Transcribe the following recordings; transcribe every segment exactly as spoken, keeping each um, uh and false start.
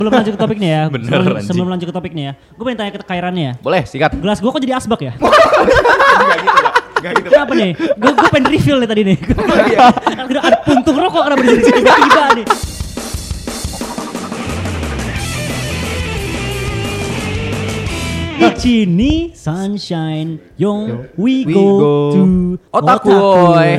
Sebelum lanjut ke topiknya ya. Bener, sebelum, anjing. sebelum lanjut ke topiknya ya. Gue pengen tanya ke Kairannya ya. Boleh, sikat. Gelas gue kok jadi asbak ya? Enggak gitu, Pak. Enggak gitu. Kenapa nih? Gue gue pengen refill nih tadi nih. Ada puntung rokok kenapa di sini tiba-tiba nih. Di sini sunshine yang we, We go, go. to Otakuy.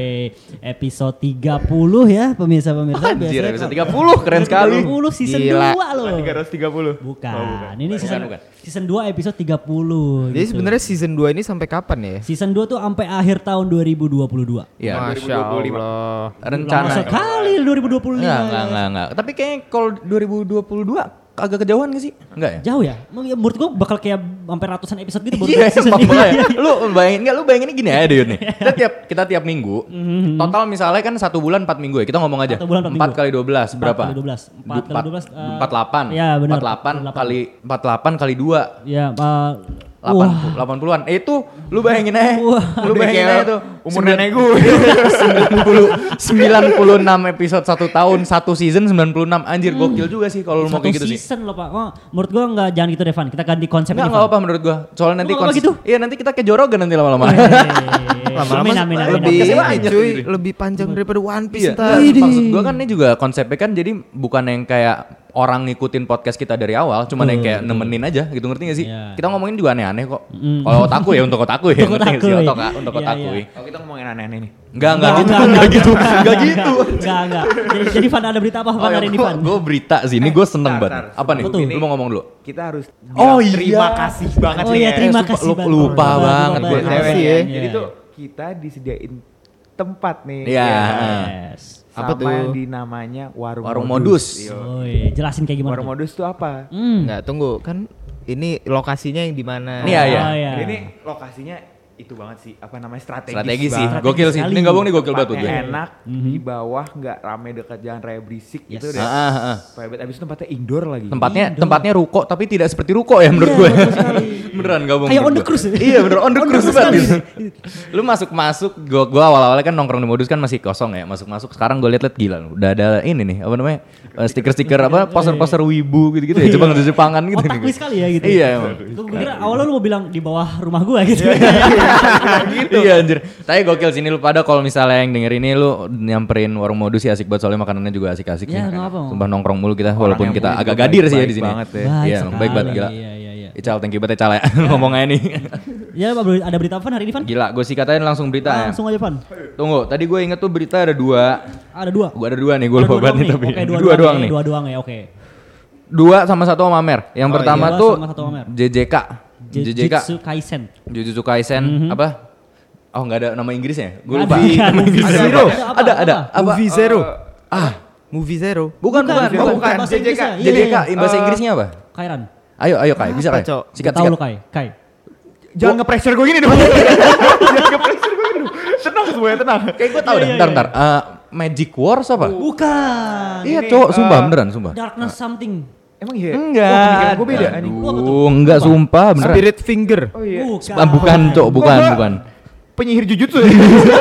Episode tiga puluh ya pemirsa-pemirsa. Anjir, Biasanya episode tiga puluh keren sekali. tiga puluh season Gila. dua loh. tiga ratus tiga puluh. Bukan. Oh, bukan. Ini season bukan. season dua episode tiga puluh. Jadi gitu. sebenarnya season dua ini sampai kapan ya? Season dua tuh sampai akhir tahun dua ribu dua puluh dua. Iya. Masya Allah. Lama Rencana. sekali dua ribu dua puluh lima. Enggak, enggak, enggak, enggak. Tapi kayaknya kalau dua ribu dua puluh dua agak kejauhan gak sih? Enggak ya? Jauh ya? Menurut gua bakal kayak sampai ratusan episode gitu baru Iya, season emang ini. makanya. Lu bayangin enggak, lu bayangin gini aja deh Yud nih. Kita tiap kita tiap minggu, total misalnya kan satu bulan empat minggu ya. Kita ngomong aja. Satu bulan empat empat minggu. kali dua belas berapa? empat kali dua belas. empat kali dua belas. eh, empat puluh delapan. Iya, benar. empat puluh delapan empat puluh delapan. kali empat puluh delapan kali dua. Ya, uh, delapan puluh, delapan puluhan. Eh itu lu bayangin aja. Wah. Lu bayangin aja tuh. Umur nenek gue. sembilan puluh, sembilan puluh enam episode satu tahun, satu season sembilan puluh enam. Anjir gokil juga sih kalau lu mau satu kayak gitu sih. season loh Pak. Oh, menurut gua enggak jangan gitu Devan. Kita ganti konsep Enggak, ini. enggak Van. apa menurut gua. Soalnya nanti Lu nggak apa konsis- gitu? Iya, nanti kita kayak Jorogen nanti lama-lama. Lama-lama Amin, amin, amin, lebih amin. ini Banyak cuy, gitu. lebih panjang daripada One Piece Iya. ntar. Maksud gua kan ini juga konsepnya kan jadi bukan yang kayak orang ngikutin podcast kita dari awal, cuman yang kayak nemenin aja gitu, ngerti gak sih? Iya. Kita ngomongin juga aneh-aneh kok. Mm. Kalau otaku ya untuk otaku ya, Untuk ngerti gak sih? otaku. Otak, untuk Iya, otaku. iya. Kalau kita ngomongin aneh-aneh nih. Enggak, enggak gitu, enggak gitu, enggak gitu. Enggak, enggak. Jadi, jadi Van ada berita apa Van hari ini Van? Gue berita sih, ini gue seneng tar, banget. tar. Apa nih? Apa tuh? Lu mau ngomong dulu? Kita harus Oh, bilang iya. terima kasih banget Oh nih iya, ya. terima sumpah, kasih lupa- banget. lupa Lupa banget banget. gua. Iya, Cewek iya, ya. iya. Jadi tuh kita disediain tempat nih. Iya. Yes. Apa Apa tuh? tuh? Yang dinamanya warung, Warung modus. Yo. Oh iya, jelasin kayak gimana Warung tuh? modus tuh apa? Hmm. Enggak, tunggu. Kan ini lokasinya yang di mana? Iya, iya. Oh, iya. Jadi ini lokasinya itu banget sih, apa namanya strategis, Strategi sih, banget. gokil sih. sekali. Ini gabung nih gokil banget buat gue. Tempatnya enak, Mhm. di bawah nggak rame dekat jalan raya berisik Yes. gitu deh. Ah, ah, ah. Private, abis itu tempatnya indoor lagi. Tempatnya Indoor. tempatnya ruko tapi tidak seperti ruko ya menurut Iya, gue. betul sekali. Beneran gabung. Kayak menurut on the gue. cruise. Iya bener on the On the cruise cruise banget. sekali. Lu masuk masuk, gua gua awal-awalnya kan nongkrong di modus kan masih kosong ya. Masuk masuk sekarang gue liat-liat gila. Udah ada ini nih apa namanya eh, stiker-stiker apa poster-poster wibu gitu-gitu ya. Coba nge Jepangan gitu. Otakui sekali ya gitu. Iya emang. Gue kira awalnya lu mau bilang di bawah rumah gua gitu. Iya anjir. Tapi gokil sini lu pada kalau misalnya yang denger ini lu nyamperin warung modus sih asik banget soalnya makanannya juga asik-asik Ya, sih. nggak apa. Sumpah nongkrong mulu kita Orang walaupun yang kita punya agak juga gadir sih ya baik di sini. banget ya. Baik Iya, sekali. baik banget gila. Iya, iya, iya. Ical, thank you banget Ical ya ngomong aja nih. Ya, Pak, ada berita apa hari ini, Van? Gila, gue sih katain langsung berita ya. Langsung aja, Van. Tunggu, tadi gue inget tuh berita ada dua. Ada dua. Gue ada dua nih, gue Ada lupa dua banget doang nih tapi. Oke, dua, dua doang ya, nih. Dua doang ya, oke. Dua sama satu sama Amer. Yang Oh, pertama iya. tuh Dua sama satu sama Amer. J J K. J J K. Jujutsu Kaisen. Jujutsu Kaisen apa? Oh nggak ada nama Inggrisnya? Gue Nggak lupa. ada. Nama Inggrisnya Zero. apa? Ada apa? Ada, ada. Apa? Apa? Movie Zero. Ah, Movie Zero. bukan, bukan. Bukan, bukan. bukan. Bahasa J J K. Inggrisnya, J J K, iya, bahasa iya. Inggrisnya apa? Kairan. Ayo, ayo Kai, bisa Apa, Kai? Cok? Sikat, Tahu sikat. lu Kai, Kai. Jangan nge-pressure gue gini dong. Jangan nge-pressure gue gini dong. Tenang semuanya, tenang. Kayak gue tau Iya, deh, iya, bentar, iya. bentar. Eh, Magic Wars apa? Bukan. Iya ini, cowok, sumpah eh, beneran, sumpah. Darkness something. Emang iya? Enggak. Oh, pemikiran gue beda. anjing. Aduh, enggak sumpah beneran. Spirit Finger. Oh iya. Bukan. Ah, bukan cok, bukan, gua- bukan. Penyihir Jujutsu ya?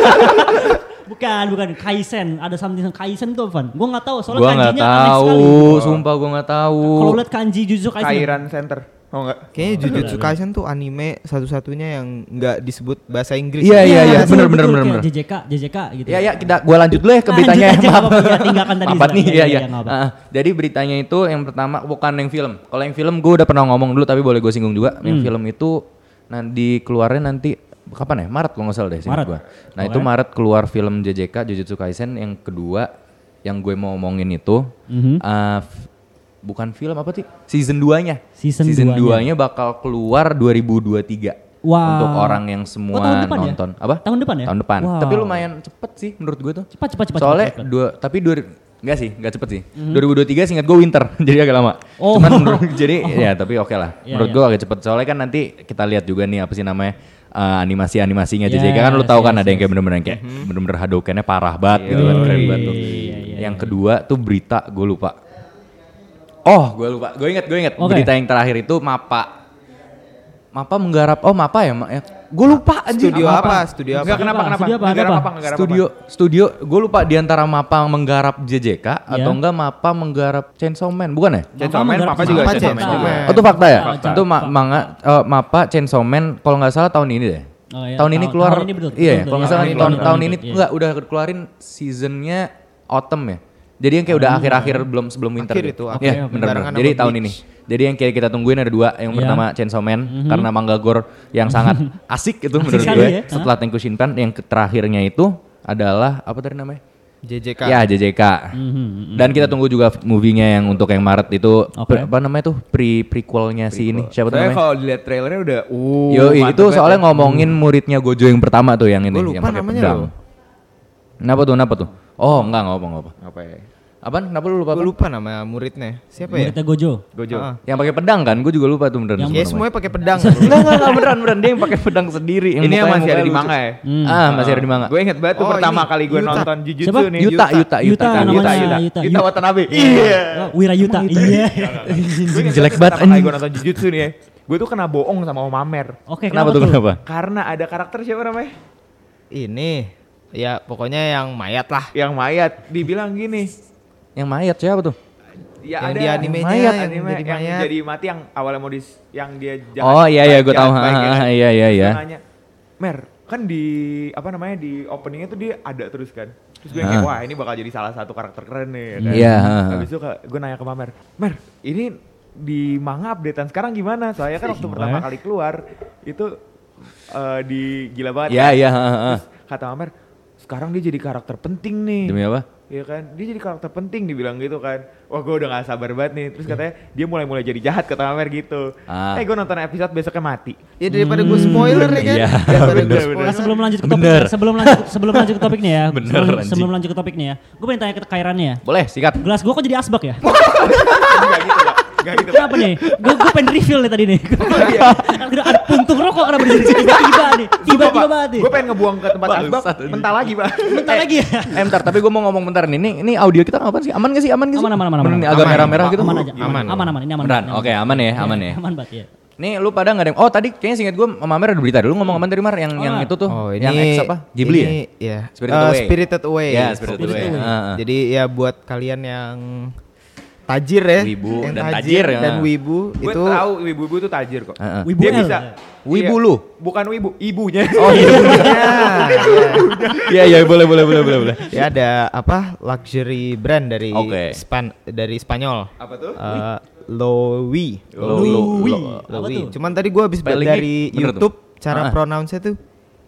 Bukan, bukan. Kaisen. Ada something Kaisen tuh, Van. Gue nggak tahu. Soalnya Gua nggak kanjinya aneh tahu, sekali. sumpah gua nggak tahu. Kalau lihat kanji Jujutsu Kaisen. Kairan Center. Oh enggak? Kayaknya Jujutsu Kaisen tuh anime satu-satunya yang nggak disebut bahasa Inggris. Iya, iya, iya, betul, bener, betul, bener, kayak bener, bener. J J K, J J K gitu. Ya ya kita gua lanjut dulu ya ke Lanjut beritanya. aja, Maaf. nggak apa-apa, ya, tinggalkan tadi, Maaf nih, Zra. iya Iya, iya. iya, nggak apa-apa. Ah, jadi beritanya itu yang pertama bukan yang film. Kalau yang film gua udah pernah ngomong dulu tapi boleh gue singgung juga. Yang Hmm. film itu nanti keluarnya nanti kapan ya? Maret kalau nggak salah deh seingat Maret. gua. Nah, Oke. itu Maret keluar film J J K Jujutsu Kaisen yang kedua yang gue mau ngomongin itu Mhm. ah, f- bukan film apa sih? Season dua-nya. Season dua-nya duanya. bakal keluar dua ribu dua puluh tiga. Wah. Untuk orang yang semua Oh, tahun depan ya? nonton. Apa? Tahun depan ya? Tahun depan. Wow. Tapi lumayan cepet sih menurut gue tuh. Cepat, cepat, cepat. Soalnya cepat, cepat. dua, tapi dua, enggak sih, enggak cepet sih. dua ribu dua puluh tiga seingat gue winter, jadi agak lama. Oh. Cuman menurut, jadi ya tapi oke lah. Iya, Menurut iya. gue agak cepet. Soalnya kan nanti kita lihat juga nih apa sih namanya eh, animasi-animasinya J J K Yes, kan lu tahu kan yes, ada yang yes. kayak bener-bener yang kayak bener-bener Hadouken-nya parah banget gitu kan, keren banget tuh. Iya, iya, Yang iya. kedua tuh berita gue lupa. Oh, gue lupa. Gue inget, gue inget. Oke. Berita yang terakhir itu Mappa. Mappa menggarap. Oh, Mappa ya, Ma- ya. gue lupa anjing. Studio apa? Studio apa? Enggak kenapa kenapa? Studio apa? Negara Apa? apa? Negara Studio studio gue lupa di antara Mappa menggarap J J K atau enggak Mappa menggarap Chainsaw Man, bukan ya? Chainsaw Man, Mappa Papa juga Mappa Chainsaw Man Chainsaw juga. Man. Oh itu fakta ya? Fakta. Itu ma- manga eh, Mappa Chainsaw Man kalau nggak salah tahun ini deh. Oh, iya. Tahun ini Tahun- keluar. tahun ini betul, iya, betul, kalau betul. nggak salah Tahun ini, tahun tahun tahun ini, ini iya. enggak udah keluarin seasonnya autumn ya. Jadi yang kayak udah akhir-akhir belum sebelum winter. Akhir gitu. itu, Iya, akhir. benar-benar. Barengan Jadi sama tahun Bleach. ini. Jadi yang kayak kita tungguin ada dua, yang Iya. pertama Chainsaw Man karena manga gore yang sangat asik itu menurut sekali gue. ya. Setelah Tenku Shinpan yang terakhirnya itu adalah apa tadi namanya? J J K. Ya J J K. Mhm. Dan kita tunggu juga movie-nya yang untuk yang Maret itu Oke. pre- apa namanya tuh pre prequelnya si ini siapa tuh Soalnya namanya? kalau dilihat trailernya udah uh Yo mantep itu banget soalnya ya. ngomongin muridnya Gojo yang pertama tuh yang ini Gua lupa yang pakai namanya pedang. loh. Kenapa tuh? Kenapa tuh? Oh enggak enggak apa enggak apa. Apa ya? Apaan? Kenapa lu lupa? Gue Apa? lupa nama muridnya. Siapa ya? Muridnya Gojo. Gojo. Ah. Yang pakai pedang kan? Gue juga lupa tuh beneran. Yang- semua Ya semuanya pakai pedang. namanya. Enggak enggak enggak beneran beneran dia yang pakai pedang sendiri. Ini yang mukanya- masih ada mukanya di lucu. manga ya? Hmm. Ah masih ada di manga. Gue inget banget tuh Oh, pertama ini, kali gue Yuta. nonton Jujutsu Siapa? nih. Yuta Yuta Yuta Yuta. namanya, Yuta, Yuta. Yuta Watanabe. Iya. Oh, Wira Yuta. Iya. Gue inget Jelek banget banget, pertama kali anjing. gue nonton Jujutsu nih ya. Gue tuh kena bohong sama Om Amer. Oke, Kenapa tuh kenapa? Karena ada karakter siapa namanya? Ini ya pokoknya yang mayat lah. Yang mayat. Dibilang gini. Yang mayat siapa tuh? Ya Yang ada di animenya, mayat, yang anime jadi yang mayat. jadi mati yang awalnya mau dis yang dia jahat. Oh iya iya gue jahat tahu. baik, ya kan? Ah, Iya iya Terus iya. dia nanya, Mer, kan di apa namanya di openingnya tuh dia ada terus kan. Terus gue Ah. kayak wah ini bakal jadi salah satu karakter keren nih ya kan. Iya, ah, ah. Habis itu gue nanya ke Mamer, Mer, ini di manga updatean sekarang gimana? Soalnya kan waktu pertama kali keluar itu eh, di gila banget. Iya kan? iya. ah, ah. Terus kata Mamer, sekarang dia jadi karakter penting nih. Demi apa? Iya kan, dia jadi karakter penting dibilang gitu kan. Wah gue udah gak sabar banget nih. Terus katanya dia mulai-mulai jadi jahat kata Mamer gitu. Ah. Eh gue nonton episode besoknya mati. Ya daripada gue spoiler ya kan. Iya, Daripada gue bener, spoiler. Nah, sebelum lanjut ke topik, Bener. sebelum lanjut sebelum lanjut ke topiknya ya. Bener, sebelum, anjing. sebelum lanjut ke topiknya ya. Gue pengen tanya ke Kairannya ya. Boleh sikat. Gelas gue kok jadi asbak ya? Gak gitu lah. Gak gitu. Kenapa nih? Gue gue pengen refill nih tadi nih. Kan ada puntung rokok kenapa di sini tiba-tiba nih. Tiba-tiba banget nih. Gue pengen ngebuang ke tempat asbak, Bangsat ini. mentah lagi pak. Bentar lagi ya. Eh bentar, tapi gue mau ngomong bentar nih. Ini, ini audio kita ngapain sih? Aman gak sih? Aman gak sih? Aman, aman, aman, Bener aman. nih, agak Aman. merah-merah gitu. Aman aja. Aman. Aman aman ini aman. Beneran? banget, Oke, aman ya, aman ya. Aman banget ya. Nih lu pada nggak ada yang, oh tadi kayaknya singkat gue sama Mamer ada berita dulu ngomong aman dari Mar yang yang Oh. itu tuh, Oh ini yang X apa? Ghibli ya? ini, ya? Spirited Eh, Away. Spirited Away. Ya, Spirited Spirited Away. Away. Ah, ah. Jadi ya buat kalian yang tajir ya, Wibu yang dan tajir, ya. dan wibu Gue itu tahu ibu-ibu tuh tajir kok. Ah, ah. Wibu Dia L. bisa. Wibu Iya. lu? Bukan wibu, ibunya. Oh iya. ya, ya. Iya iya boleh boleh boleh boleh boleh. Ya ada apa luxury brand dari Oke. Span dari Spanyol. Apa tuh? Eh, Loewe. Loewe. Apa Loewe. tuh? Cuman tadi gue habis Spellingnya dari bener tuh. YouTube cara Ah. pronounce-nya tuh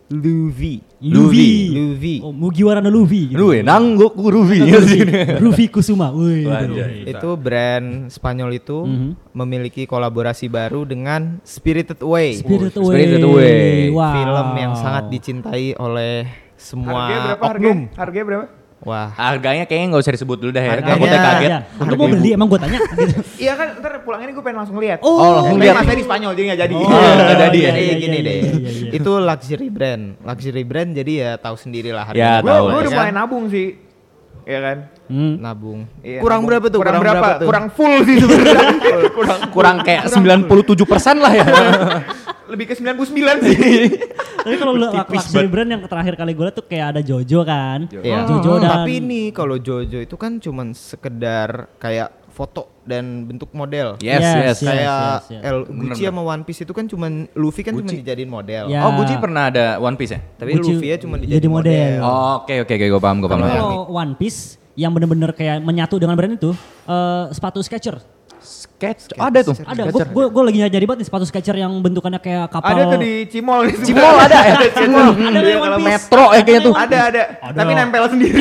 Luvi. Luvi. Luvi. Oh, Mugiwara no Luvi. Lu ya nangguk Rufi. Rufi Kusuma. Wih. Anjay. Itu brand Spanyol itu Mhm. memiliki kolaborasi baru dengan Spirited Away. Spirited Away. Spirited Away. Wow. Film yang sangat dicintai oleh semua Harganya berapa oknum. harganya? Harganya berapa? Wah. Harganya kayaknya nggak usah disebut dulu dah ya. Harganya- Takutnya kaget. Ya. Untuk mau beli emang gue tanya gitu. Iya kan ntar pulang ini gue pengen langsung lihat. Oh, Oh, langsung Tapi lihat. masanya di Spanyol jadi gak jadi. Oh, Oh, nggak jadi ya? iya, Jadi iya, gini iya, deh. iya, iya, iya. Itu luxury brand. Luxury brand jadi ya tahu sendirilah Ya, harganya. Gue tahu. gue udah Ya mulai kan? nabung sih. Iya kan? Hmm. Nabung. Iya, Kurang nabung. berapa tuh? Kurang, berapa? tuh? Kurang full sih sebenarnya. kurang Kurang kayak sembilan puluh tujuh persen lah ya. lebih ke sembilan puluh sembilan sih. Tapi kalau lu luxury brand yang terakhir kali gue liat tuh kayak ada Jojo kan. Iya. Jojo dan Tapi ini kalau Jojo itu kan cuman sekedar kayak foto dan bentuk model. Yes, Yes, yes. yes. Kayak yes. L Bener, Gucci sama One Piece itu kan cuman Luffy kan cuma dijadiin model. Ya. Oh, Gucci pernah ada One Piece ya? Tapi Gucci Luffy ya cuma jadi dijadiin model. model. Oh, oke oke oke gue paham gue paham. kalau One Piece yang bener-bener kayak menyatu dengan brand itu eh, sepatu Skechers. Sketch ada tuh. Ada, gue gue gue lagi nyari banget nih sepatu Skechers yang bentukannya kayak kapal. Ada tuh di Cimol. di sebelah. Cimol ada ya? Cimol. Ada Iya, yang One kalau Piece. Metro ya kayaknya tuh. Ada ada. Ada. Tapi nempel sendiri.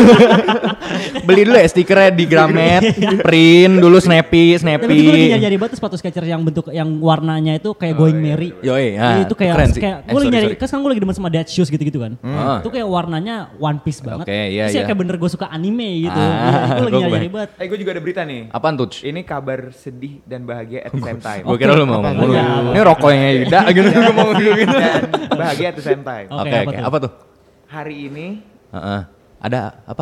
Beli dulu ya stikernya di Gramet, print dulu snappy, Tapi gue lagi snappy. nyari banget tuh sepatu Skechers yang bentuk yang warnanya itu kayak Going Merry. Yoi, Iya, ah, itu kayak keren sih. kayak Eh, gue lagi sorry, nyari, sorry. kan sekarang gue lagi demen sama Dead Shoes gitu-gitu kan. Ah. Itu kayak warnanya One Piece banget. Oke, iya, Terus ya iya. kayak bener gue suka anime gitu. Ah, Iya, gue lagi gua nyari kebayang. banget. Eh gue juga ada berita nih. Apaan tuh? Ini kabar sedih dan bahagia at the same time. Gue kira lu mau apa- ngomong lu. apa- Ini rokoknya Yuda gitu gue mau gitu. Dan bahagia at the same time. Oke, Oke apa oke, tuh? apa tuh? Hari ini Heeh. Ada apa?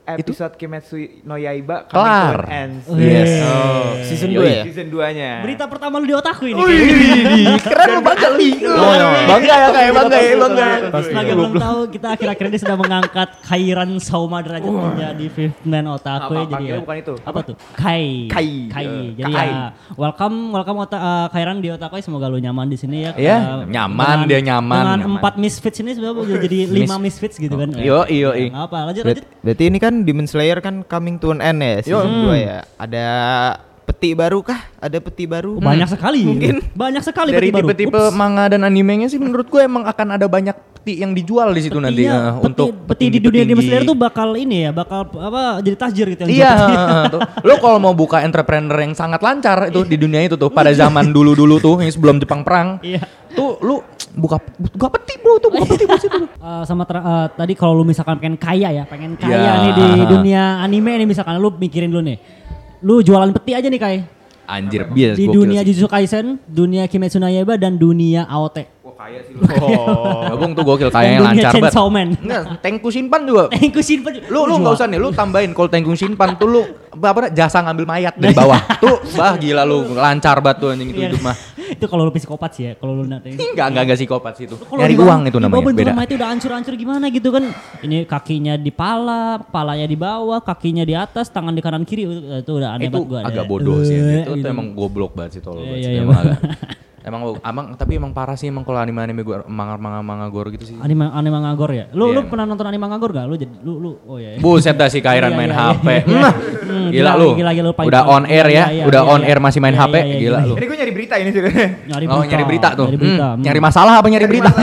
episode Kimetsu no Yaiba Kelar. coming to an end. Yes. Oh, season dua Yoi. ya? Season dua-nya. Berita pertama lu di otakku ini. Keren lu bangga lu. Bangga ya kayak bangga ya bangga. Sebagai belum tahu kita akhir-akhir ini sudah mengangkat Kairan Sauma derajat menjadi fifth man otaku ya Apa, jadi apa, ya. bukan itu. Apa tuh? Kai. Kai. Kai. Eh, Jadi Kai. ya welcome welcome ota, uh, Kairan di otaku semoga lu nyaman di sini ya. Iya, Uh, nyaman, dengan- dia nyaman, Dengan nyaman. empat misfits ini sebenarnya jadi lima misfits gitu kan. Yo, iyo, iyo. Enggak apa, lanjut Ber- lanjut. berarti ini kan Demon Slayer kan coming to an end ya season dua ya. Ada peti baru kah? Ada peti baru? Banyak sekali. Mungkin. Banyak sekali Dari peti baru. tipe-tipe Ups. manga dan animenya sih menurut gue emang akan ada banyak peti yang dijual di situ nanti Petinya, eh, peti, untuk peti di dunia Demon petinggi-petinggi. Slayer tuh bakal ini ya, bakal apa jadi tajir gitu yang Iya, jual peti. tuh. Lo kalau mau buka entrepreneur yang sangat lancar itu di dunia itu tuh pada zaman dulu-dulu tuh yang sebelum Jepang perang. Iya. Tuh lu buka buka peti bro tuh, buka peti bro situ. Eh, sama ter- eh, tadi kalau lu misalkan pengen kaya ya, pengen kaya Ya. nih di dunia anime nih misalkan lu mikirin dulu nih. Lu jualan peti aja nih Kai. Anjir, bias Di gokil dunia sih. Jujutsu Kaisen, dunia Kimetsu no Yaiba dan dunia A O T. Wah kaya sih lu. Oh, gabung tuh gokil Dan kayaknya dunia lancar banget. Chainsaw Man. Enggak, Tengku Shinpan juga. Tengku Shinpan. Lu lu enggak usah nih, lu tambahin kalau Tengku Shinpan tuh lu apa jasa ngambil mayat dari bawah. Tuh, bah gila lu lancar banget tuh anjing itu Iya. hidup mah. Itu kalau lu psikopat sih ya, kalau lu nanti. Enggak, enggak enggak psikopat sih itu. Kalau Nyari di bawah- uang itu di namanya, bawah beda. rumah itu udah hancur-hancur gimana gitu kan. Ini kakinya di pala, kepalanya di bawah, kakinya di atas, tangan di kanan kiri itu, itu udah aneh Itu banget gua. agak ada- bodoh sih Eh, itu, itu gitu. emang goblok banget sih tolol Iya, banget iya, sih. iya. Emang agak emang emang tapi emang parah sih emang kalau anime-anime gua manga manga manga gore gitu sih. Anime anime ngagor ya. Lu Iya, lu emang. pernah nonton anime ngagor gak? Lu jadi lu lu oh ya. Buset dah si Kairan Iya, main iya, H P. iya, iya. Nah, Hmm, gila, gila, lu. gila, gila, lu paling- Udah on air ya, iya, iya, udah iya, on iya. air masih main Iya, H P, iya, iya, gila gila. lu. Ini gue nyari berita ini sebenarnya. Nyari Oh, nyari berita tuh. Nyari Hmm, berita. nyari masalah apa nyari berita?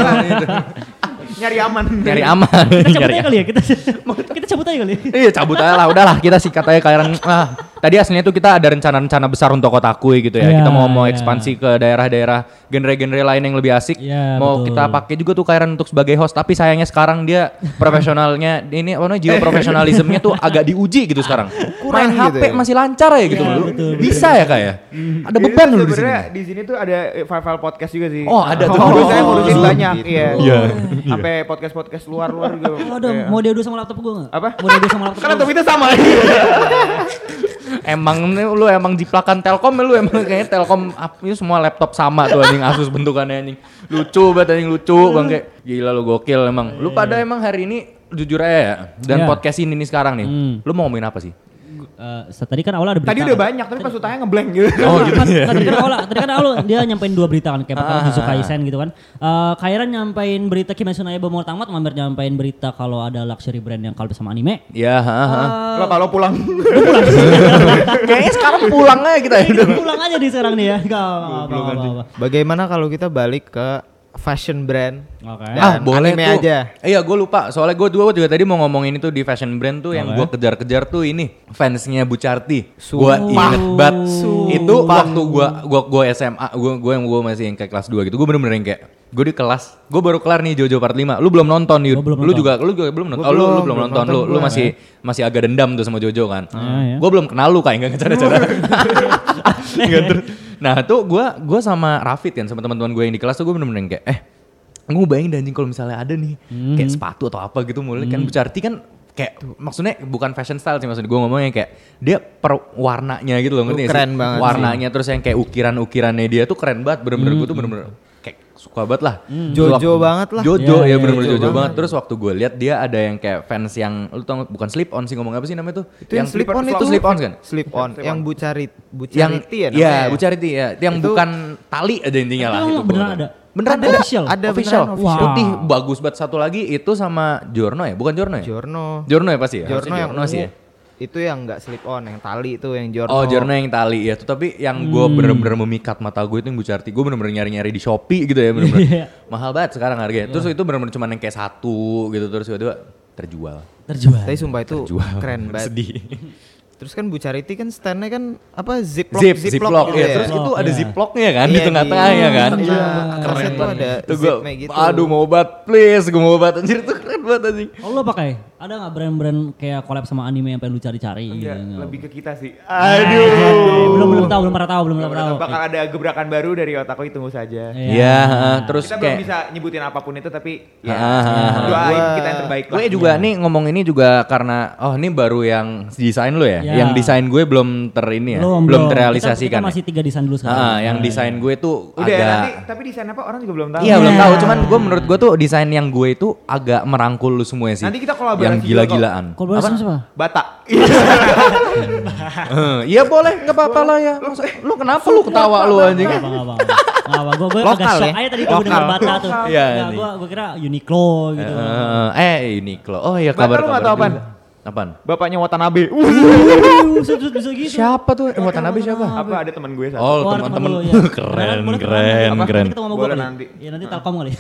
Nyari aman. Nyari aman. Kita cabut Nyari aja kali ya, kita kita cabut aja kali. Iya cabut aja lah, udahlah kita sikat aja Kairan. Ah, tadi aslinya tuh kita ada rencana-rencana besar untuk Kotakui gitu ya. Iya, Kita mau mau iya. ekspansi ke daerah-daerah genre-genre lain yang lebih asik. Iya, mau betul. kita pakai juga tuh Kairan untuk sebagai host, tapi sayangnya sekarang dia profesionalnya ini apa namanya jiwa profesionalismenya tuh agak diuji gitu sekarang. Main Kurang H P gitu ya? masih lancar ya gitu Iya, loh. betul, betul. Bisa ya kayak. Ada Ini beban tuh lu di sini. sebenarnya di sini tuh ada eh, file-file podcast juga sih. Oh, ada tuh. Dulu saya Oh, ngurusin gitu. banyak, iya. Iya. Sampai podcast-podcast luar-luar gitu. Oh, ada Kayak- mau diadu sama laptop gua enggak? Apa? Mau diadu sama laptop. Kan gua laptop itu sama. Emang nih lu emang jiplakan Telkom ya lu emang kayaknya Telkom ap- itu semua laptop sama tuh anjing Asus bentukannya anjing. Lucu banget anjing lucu bang kayak gila lu gokil emang. Lu pada emang hari ini jujur aja ya dan Iya. podcast ini nih sekarang nih. Hmm. Lu mau ngomongin apa sih? Eh, tadi kan awalnya ada berita. Tadi udah kan? banyak, tapi pas utangnya ngeblank gitu. Oh gitu Kan- ya. Tadi kan awal, tadi kan awal dia nyampein dua berita kan, kayak pertama Ah, Jujutsu ah, Kaisen gitu kan. Eh Kairan nyampein berita Kimetsu no Yaiba mau tamat, Mamer nyampein berita kalau ada luxury brand yang kalau sama anime. Ya, ha, ha. Lo kalau pulang. Kayaknya sekarang pulang aja kita ya. Udah pulang aja di sekarang nih ya. Enggak apa-apa. Bagaimana kalau kita balik ke fashion brand? Oke. Dan Ah boleh anime tuh. aja. Iya gue lupa. Soalnya gue juga, juga tadi mau ngomongin itu di fashion brand tuh yang Oke. gue kejar-kejar tuh ini fansnya Bucarti. Gue Sumpah. inget banget. Sumpah. Itu waktu gue gua gua S M A, gue gue yang gue masih yang kayak kelas dua gitu. Gue bener-bener yang kayak gue di kelas, gue baru kelar nih Jojo Part lima. Lu belum nonton Yud. Gua belum Lu nonton. juga lu juga belum nonton. Gua Oh, lu, lu belum, belum belum nonton. Lu nonton lu gua. masih masih agak dendam tuh sama Jojo kan. Ah, ya. Gue belum kenal lu kayak enggak cara-cara. Nggak, terus- Nah tuh gue gue sama Rafid kan sama teman-teman gue yang di kelas tuh gue bener-bener yang kayak eh gue bayangin anjing kalau misalnya ada nih kayak sepatu atau apa gitu mulai kan Bucarti kan kayak maksudnya bukan fashion style sih maksudnya gue ngomongnya kayak dia per warnanya gitu loh ngerti Tuh nggak keren sih? banget Warnanya terus yang kayak ukiran-ukirannya dia tuh keren banget bener-bener gue tuh bener-bener kayak suka banget lah. Terus Jojo waktu- banget lah. Jojo Iya, ya iya, bener-bener Jojo Jojo banget. banget. Terus waktu gue lihat dia ada yang kayak fans yang lu tau nggak? Bukan slip on sih ngomong apa sih namanya tuh? Itu yang slip on itu slip on kan? Slip on, Slip yang on. bucarit, Yang bucariti ya Iya, namanya. Bucariti ya. Yang Itu- bukan tali aja intinya lah Itu itu. beneran gua- ada? Beneran Ada ada. official? Ada official. beneran official. Putih Wow. bagus banget satu lagi itu sama Giorno ya? Bukan Giorno ya? Giorno. Giorno ya pasti ya? Giorno Harusnya yang Giorno sih ya. ungu. Itu yang enggak slip on, yang tali itu yang Giorno. Oh Giorno yang tali ya. Tuh, tapi yang gue Hmm. bener-bener memikat mata gue itu yang Bucarti. Gue bener-bener nyari-nyari di Shopee gitu ya bener-bener. Iya. Mahal banget sekarang harganya. Terus itu bener-bener cuma yang kayak satu gitu. Terus tiba-tiba terjual. Terjual. Tapi sumpah itu Terjual. keren banget. Sedih. Terus kan Bucariti kan standnya kan apa ziplock Zip, ziplock ziplock gitu ya. ya. Terus itu ada Iya. ziplocknya kan di Iya, tengah-tengahnya kan. Iya, Keren kerasnya tuh banget. ada Itu gue, zipnya gitu. aduh mau obat please, gue mau obat anjir itu keren banget anjing. Oh lu pakai? Ada nggak brand-brand kayak collab sama anime yang pengen lu cari-cari? Enggak, gitu? lebih ke kita sih. Aduh. Belum belum tahu, belum pernah tahu, belum pernah tahu. Bakal ada gebrakan baru dari Otakoi, tunggu saja. Iya, uh, terus Kita kayak belum bisa nyebutin apapun itu tapi ya Ah, ah, ah. doain Gua- kita yang terbaik lah. gue juga nih ngomong ini juga karena oh ini baru yang desain lo ya, Ya. yang desain gue belum ter ini ya, Belum, belum Kita, terrealisasikan. kita masih tiga desain dulu sekarang. Ah, yang Nah, desain gue tuh Udah agak nanti tapi desain apa orang juga belum tahu. iya belum Iya. tahu, cuman gue menurut gue tuh desain yang gue itu agak merangkul lu semua sih. Nanti kita kolaborasi yang juga gila-gilaan. Kolaborasi sama siapa? Bata. Eh, Iya boleh, nggak apa-apa lah ya. Masa, lu kenapa lu ketawa lu anjing? Nggak apa, nggak apa. Nggak apa, gue gue agak Lokal shock ya? aja tadi gue denger Lokal. Bata tuh. Iya, Nggak, nih. gue gue kira Uniqlo gitu. Eh, eh Uniqlo. Oh iya Bata kabar lu nggak kabar. tahu apaan? juga. Apaan? Bapaknya Watanabe. Uh. Uh, bisa, bisa gitu. Siapa tuh? Eh, Watanabe siapa? Apa ada teman gue satu. Oh, Oh, teman-teman. lu, ya. Keren, Boleh kenalan keren, nanti. keren. Nanti ketemu sama gue Boleh kali. nanti. Ya nanti Telkom kali.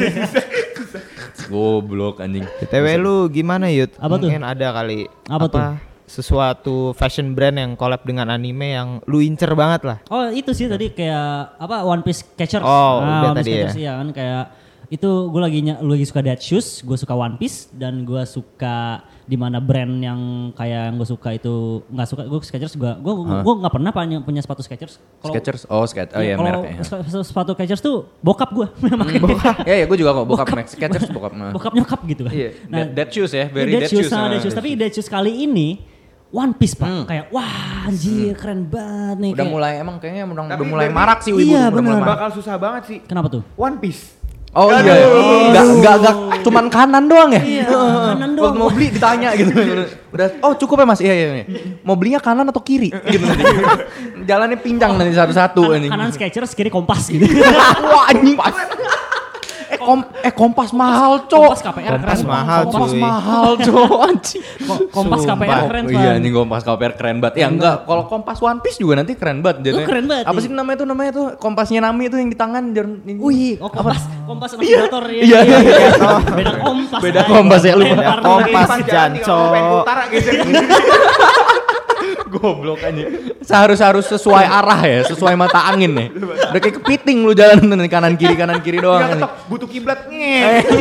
Goblok anjing. B T W lu gimana Yud? Apa tuh? Mungkin ada kali Apa tuh? sesuatu fashion brand yang collab dengan anime yang lu incer banget lah. Oh itu sih tadi kayak apa One Piece Catchers. Oh, nah, udah One Piece tadi ya. Catchers iya kan kayak itu gue lagi ny- lagi suka Dead Shoes, gue suka One Piece dan gue suka di mana brand yang kayak yang gue suka itu nggak suka gue Skechers gue gue gue nggak pernah punya punya sepatu Skechers. Kalau- Skechers. Oh, Skechers. Oh iya kalau mereknya. sep- sepatu Skechers tuh bokap gue makanya. Ya ya gue juga kok bokap Max Skechers bokap. Nah. Bokap nyokap gitu kan. Iya, Nah, Dead- Dead Shoes ya, very Dead Dead Shoes, Shoes, sama ah, Dead Shoes. Dead Tapi Dead Shoes kali ini One Piece pak, kayak wah anjir keren banget nih. Udah kayak- mulai emang kayaknya udah, Tapi udah mulai berarti- marak sih wibu. Iya, udah mulai bener. marak. Bakal susah banget sih. Kenapa tuh? One Piece. Oh iya, enggak enggak enggak cuman kanan doang ya? Iya, kanan Waktu doang. mau beli ditanya gitu. Udah, oh cukup ya Mas? Iya iya. iya. Mau belinya kanan atau kiri? Gitu nanti. Jalannya pinjang nanti satu-satu anjing. Kanan Skechers, kiri Kompas gitu. Wah anjing. Eh, kom eh kompas mahal, Cok. Kompas K P R Kompas keren. mahal, Kompas cuy. mahal, Cok. Anjing. Ko- Kompas K P R Sumpah. keren Oh, Pak. iya anjing Kompas K P R keren banget. Ya enggak, kalau Kompas One Piece juga nanti keren banget jadinya. Oh, keren banget, Apa iya. sih namanya tuh namanya tuh kompasnya Nami itu yang di tangan jarum ini. Wih, oh Kompas, Kompas sama motor ya. Iya, iya, iya. Beda Kompas. Beda aja. Kompas ya, lupa. Lempar Beda Kompas. Pas jalan Jancok. tinggal mau pengen utara gitu. Goblok aja. Seharus harus sesuai arah ya, sesuai mata angin nih. Udah kayak kepiting lu jalan dari kanan kiri kanan kiri doang. Enggak nih. ketok, butuh kiblat nge.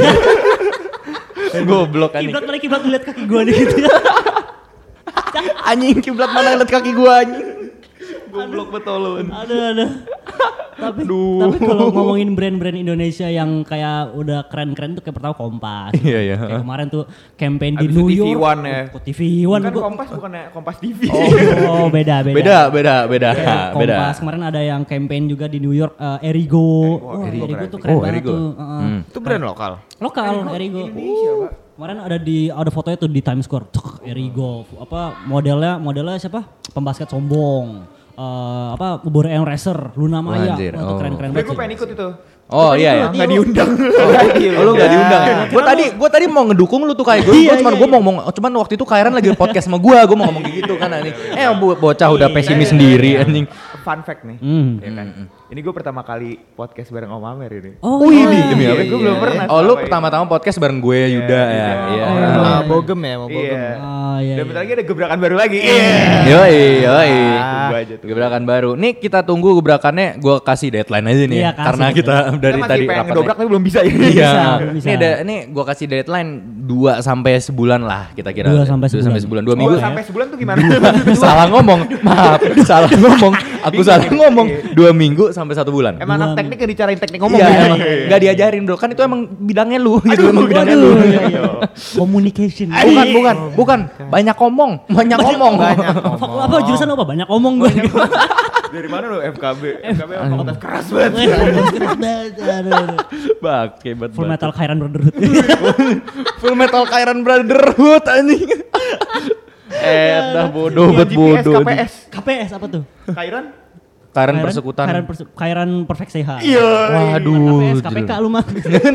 Goblok anjing. Kiblat mana kiblat lihat kaki gua nih gitu. Anjing kiblat mana lihat kaki gua anjing. Goblok betul lu. Aduh, aduh. Tapi, tapi kalau ngomongin brand-brand Indonesia yang kayak udah keren-keren tuh kayak pertama Kompas. Iya, iya. Kayak kemarin tuh campaign di Abis New itu T V York. One ya. Kok T V One Kan gua- Kompas bukannya Kompas T V. Oh, beda, beda. Beda beda beda Kayak beda. Kompas kemarin ada yang campaign juga di New York eh, Erigo. Wah, Erigo Erigo, keren. tuh keren Oh, banget Erigo. tuh. Heeh. Hmm. Itu brand lokal. Lokal Erigo. Indonesia, Pak. Kemarin ada di ada fotonya tuh di Times Square. Cuk, Erigo. Apa modelnya modelnya siapa? Pembasket sombong. Eh, apa Bubur Eon Racer, Luna Maya. Anjir, Wah, itu oh. keren-keren Tapi banget. gue sih. pengen ikut itu. Oh iya ya. Nggak diundang. Oh lu gak diundang ya? Gue tadi gue tadi mau ngedukung lu tuh kayak gue, Iya, cuman iya, gue iya. mau ngomong, cuman waktu itu Kairan lagi podcast sama gue, gue mau ngomong kayak gitu kan anjing. Eh bo- bocah udah Iya, pesimis iya, sendiri iya. anjing. Fun fact nih. Hmm. Ya kan. Ini gue pertama kali podcast bareng Om Amer ini. Oh, Wih, iya. demi apa? Gue belum pernah. Oh lu selama ini. pertama-tama podcast bareng gue Yuda ya. Iya. Sama Bogem ya, mau Bogem. Iya. Ah, iya. Dan iya. bentar lagi ada gebrakan baru lagi. Iya. Yoi, yoi. Tunggu aja tuh. Gebrakan baru. Nih kita tunggu gebrakannya, gue kasih deadline aja nih. Iya, ya. kasih Karena kita deadline. dari Kita masih tadi pengen rapatnya. ngedobrak tapi belum bisa ya. Iya. Bisa, bisa. Ini ada ini gua kasih deadline dua sampai sebulan lah kita kira. Dua sampai sebulan. Dua Oh, minggu. sampai sebulan tuh gimana? salah ngomong. Maaf, salah ngomong. Aku salah ngomong. Dua minggu sampai satu bulan. Emang Dua anak teknik gak dicarain teknik ngomong Iya, ya? emang nggak diajarin bro. Kan itu emang bidangnya lu gitu. Emang bidangnya Waduh, lu. iya, iya. Communication. Bukan, bukan, bukan. Banyak ngomong, banyak ngomong. Apa, apa jurusan apa? Banyak ngomong gue. Dari mana lo F K B? F K B fakultas keras banget. Keras banget. Aduh, aduh. Bak, hebat Full banget. Metal Khairan Brotherhood. Full Metal Kairan Brotherhood anjing. Eh, dah bodoh, bet G P S, bodoh. K P S. K P S apa tuh? Kairan? Kairan persekutan. Khairan, perse Khairan Perfect Sehat. Iya. Waduh. K P S, K P K lu mah.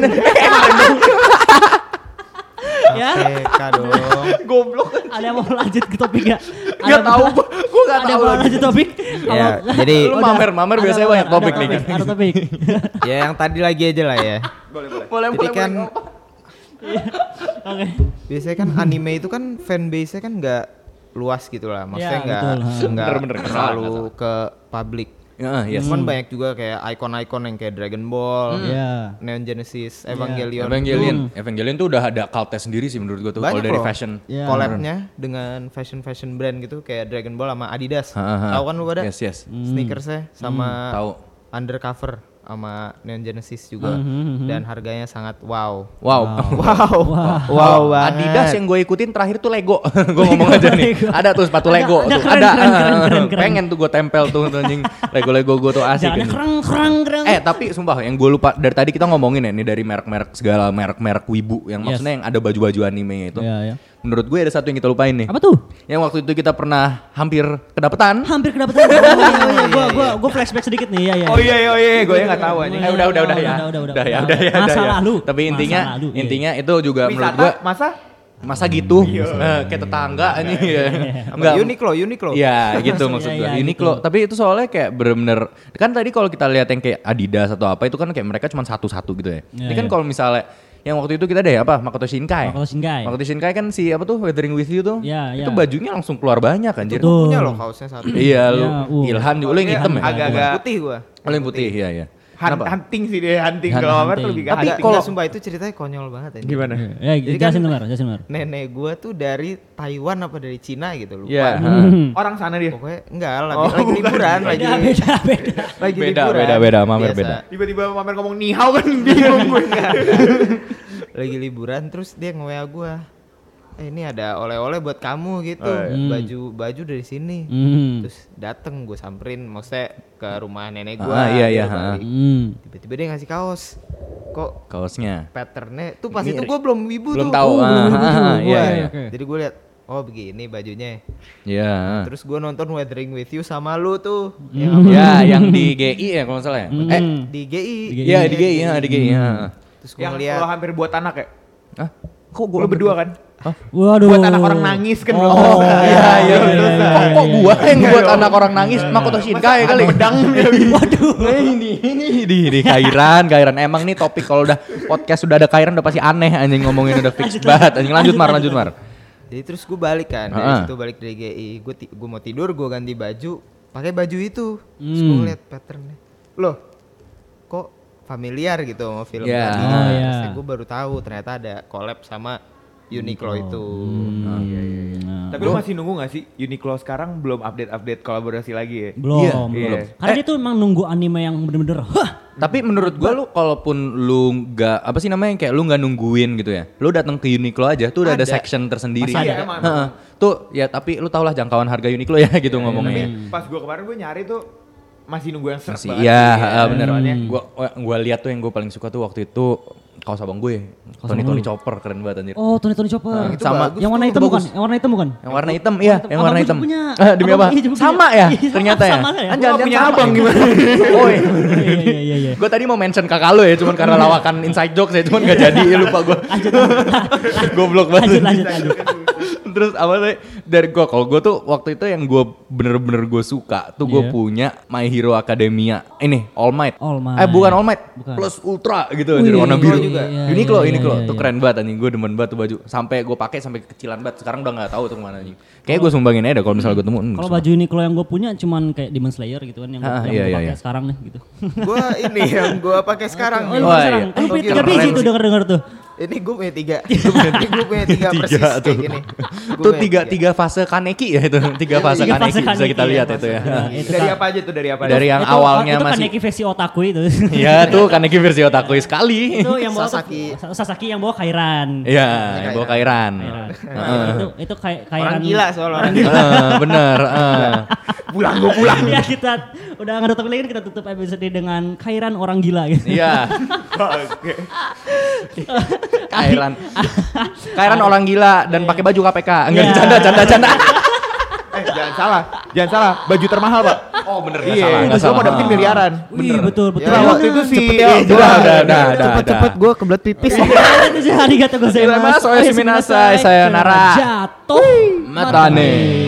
Ya, T K dong. Goblok. ada yang mau lanjut ke topik ya? Gak tahu, gua gua gak Ada tahu yang mau lagi. lanjut topik? Ya, Apa- jadi Lu Udah. mamer, mamer Ada biasanya topik, banyak topik ada nih. Ada topik. ya yang tadi lagi aja lah ya. Boleh, boleh. Boleh, Jadi kan Oke. biasanya kan anime itu kan fanbase-nya kan nggak luas gitu lah. Maksudnya Ya, nggak betul, ha. nggak Bener-bener, nggak salah, terlalu nggak ke publik. Ya, yes. Cuman banyak juga kayak ikon-ikon yang kayak Dragon Ball, Iya. Neon Genesis, Evangelion. Evangelion, Evangelion tuh udah ada cultnya sendiri sih menurut gua tuh kalau Banyak dari loh. fashion. Iya. Collab-nya dengan fashion-fashion brand gitu kayak Dragon Ball sama Adidas. Ha, ha, ha. Tahu kan lu pada? Yes, yes. Sneakersnya sama Tahu. Undercover sama Neon Genesis juga. Dan harganya sangat wow. Wow. Wow. Wow, banget. Adidas yang gue ikutin terakhir tuh Lego. Gue ngomong aja nih. Lego. Ada tuh sepatu Ada, Lego ada, tuh. keren, Ada. keren, keren, keren, keren. Pengen tuh gue tempel tuh anjing. Lego-Lego gue tuh asik. Jalannya anjing. kerang kerang kerang. Eh tapi sumpah yang gue lupa dari tadi kita ngomongin ya nih dari merek-merek segala merek-merek wibu yang Yes. maksudnya yang ada baju-baju anime itu. Iya, iya. Menurut gue ada satu yang kita lupain nih. Apa tuh? Yang waktu itu kita pernah hampir kedapetan. Hampir kedapetan. Oh iya iya gua gua gua flashback sedikit nih. Iya iya. Oh iya iya iya, gue nggak tahu anjing. Eh udah udah udah ya. Udah, udah, udah. Udah ya, udah ya, Masa udah ya. lalu. Tapi Masa intinya lalu, iya. intinya itu juga menurut Wisata gue masa? masa gitu eh, kayak tetangga ini ya. Apa? Uniqlo, Uniqlo. Iya gitu maksud Iya, gue. iya, Uniqlo. gitu. Tapi itu soalnya kayak bener-bener kan tadi kalau kita lihat yang kayak Adidas atau apa itu kan kayak mereka cuma satu-satu gitu ya. Iya, Ini kan iya. kalau misalnya yang waktu itu kita deh apa Makoto Shinkai. Makoto Shinkai. Makoto Shinkai kan si apa tuh Weathering with You tuh. Iya, Itu iya. bajunya langsung keluar banyak anjir. Betul. Punya loh kaosnya satu. Iya lu Iya, uh. Ilhan juga lu yang Iya, hitam ya. agak-agak- Putih gua. Lu yang putih iya iya. Hunt- Kenapa? hunting sih dia, hunting. Hunt- Kalau Amar tuh hunting. lebih ke Tapi hunting. kalau sumpah itu ceritanya konyol banget aja. Gimana? Ya, Jadi jelasin kan- Mar, jelasin Mar. Nenek gua tuh dari Taiwan apa dari Cina gitu lupa. Iya. Orang sana dia. Pokoknya enggak lagi, Oh, lagi bukan. liburan, lagi Beda beda beda. lagi Beda, liburan. beda, beda, Mamer Biasa. beda. Tiba-tiba Mamer ngomong nihau kan bingung gue. Lagi liburan terus dia nge-W A gua. Eh ini ada oleh-oleh buat kamu gitu. Oh, iya. Baju baju dari sini. Hmm. Terus dateng gue samperin maksudnya ke rumah nenek gua. Ah, iya, iya, dia balik. Hmm. Tiba-tiba dia ngasih kaos. Kok Kaosnya. patternnya tuh pas Ini itu gue belum wibu belum tuh. tahu. Oh, Ah, belum wibu ah, tuh ah, gua. iya, iya. Oke. Jadi gue liat, oh begini bajunya. Iya. Terus gue nonton Weathering with You sama lu tuh. Hmm. Yang apa? Ya, yang di G I ya kalau nggak salah ya. Hmm. Eh, Di G I. Di G I. iya di G I, ya, di G I. ya. Terus gue Yang ngeliat. lo hampir buat anak ya? Hah? Kok gua Lo berdua kan? Waduh. Buat anak orang nangis kan belum Oh, selesai. iya, iya, iya, Belum iya, selesai. Kok, kok gua yang buat Iya. anak orang nangis? Makoto Shinkai Masa kali. ada pedang dia gitu. Waduh. Nah, ini ini di di Kairan, Kairan emang nih topik kalau udah podcast sudah ada Kairan udah pasti aneh anjing ngomongin udah fix banget. Anjing lanjut Mar, lanjut Mar. Jadi terus gue balik kan dari Ah. situ balik dari G I. Gue ti- gue mau tidur gue ganti baju pakai baju itu. Terus gue Hmm. ngeliat patternnya. Loh, kok familiar gitu sama film Ya. tadi. Oh, iya. Terus gue baru tahu ternyata ada collab sama Uniqlo itu. Hmm. Iya iya iya. Tapi lo masih nunggu gak sih Uniqlo sekarang belum update-update kolaborasi lagi ya? Belum, Iya, belum. iya. Karena dia tuh emang nunggu anime yang bener-bener hah. Tapi menurut gua lu kalaupun lu nggak apa sih namanya kayak lu nggak nungguin gitu ya. Lu datang ke Uniqlo aja tuh udah ada, Ada. section tersendiri. Masih ada, emang, Heeh. Tuh ya tapi lu tau lah jangkauan harga Uniqlo ya gitu ngomongnya. Tapi pas gue kemarin gue nyari tuh masih nunggu yang serp Masih banget iya, sih, heeh, bener. soalnya. Gua gua lihat tuh yang gua paling suka tuh waktu itu kaos abang gue. Tony abang Tony lu? Chopper keren banget anjir. Oh, Tony Tony Chopper. itu sama bagus yang warna tuh, hitam itu bukan? bagus. Yang warna hitam bukan? Yang warna hitam, iya, yang warna Abang hitam. juga punya. Eh, demi Abang apa? iya juga punya. Sama ya? Iya, Ternyata ya? sama ya? Kan Gua jangan punya sama abang ya? gimana? Oh, Iya iya iya iya. gue tadi mau mention kakak lo ya, cuman karena lawakan inside jokes ya, cuman gak jadi, ya lupa gue. Goblok Lanjut banget. lanjut lanjut. Terus apa sih dari gue, kalau gue tuh waktu itu yang gue bener-bener gue suka tuh gue Iya. punya My Hero Academia. Ini All Might. All Might. Eh bukan All Might, Bukan. plus Ultra gitu, Wih, jadi warna Uniqlo biru. juga. Iya, Uniqlo, iya, Uniqlo, iya, tuh iya. keren banget anjing. Gue demen banget tuh baju. Sampai gue pakai sampai kekecilan banget. Sekarang udah nggak tahu tuh kemana anjing. Kayaknya gue sumbangin aja dah kalau misalnya gue temu. hmm, Kalau sumpah. baju Uniqlo yang gue punya cuman kayak Demon Slayer gitu kan yang gue Ah, yang iya, gua iya, pakai iya. sekarang nih gitu. Gue ini yang gue pakai sekarang Oh, nih. lu Wah, sekarang. iya. Eh, Oh, tiga keren biji sih. tuh denger-denger tuh. Ini gue punya tiga. Ini gue punya tiga persis Tiga kayak tuh. gini. Gua Tuh punya tiga tiga fase Kaneki ya itu. Tiga fase Tiga Kaneki fase bisa Kaneki, kita ya, lihat fase itu ya. Kaneki. Itu Dari kan- apa aja tuh dari apa? Dari yang Itu- awalnya itu masih Kaneki versi otaku itu. Iya tuh Kaneki versi otaku sekali. itu yang bawa Sasaki. tuh- Sasaki yang bawa Kairan. Iya, yang bawa Kairan. Kairan. Heeh. itu itu kayak Kairan. Orang gila soal orang gila. Heeh, bener. heeh. Pulang gue pulang. Ya kita udah nggak tutup lagi kita tutup episode dengan Kairan orang gila gitu. Iya, Oke. Kairan. Kairan orang gila dan pakai baju K P K. Enggak Iya. canda canda canda. Eh jangan salah, jangan salah. Baju termahal pak. Oh bener nggak Iya, salah, nggak gue salah. mau dapetin miliaran. Wih, betul betul. Ya, Iya, waktu itu si Cepet ya, eh, Udah, udah, udah, udah, Cepet-cepet udah. gue kebelet pipis. Itu sih arigatou gozaimasu. Gozaimasu, oyasuminasai, sayonara. Jatuh. Matane.